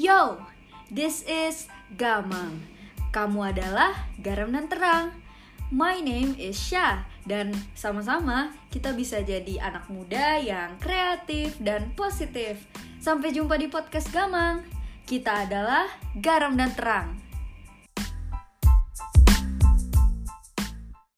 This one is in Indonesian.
Yo, this is Gamang. Kamu adalah garam dan terang. My name is Syah. Dan sama-sama kita bisa jadi anak muda yang kreatif dan positif. Sampai jumpa di podcast Gamang. Kita adalah garam dan terang.